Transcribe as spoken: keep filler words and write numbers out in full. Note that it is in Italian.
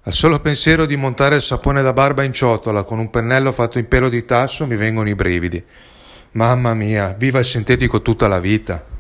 Al solo pensiero di montare il sapone da barba in ciotola con un pennello fatto in pelo di tasso mi vengono i brividi. Mamma mia, viva il sintetico tutta la vita!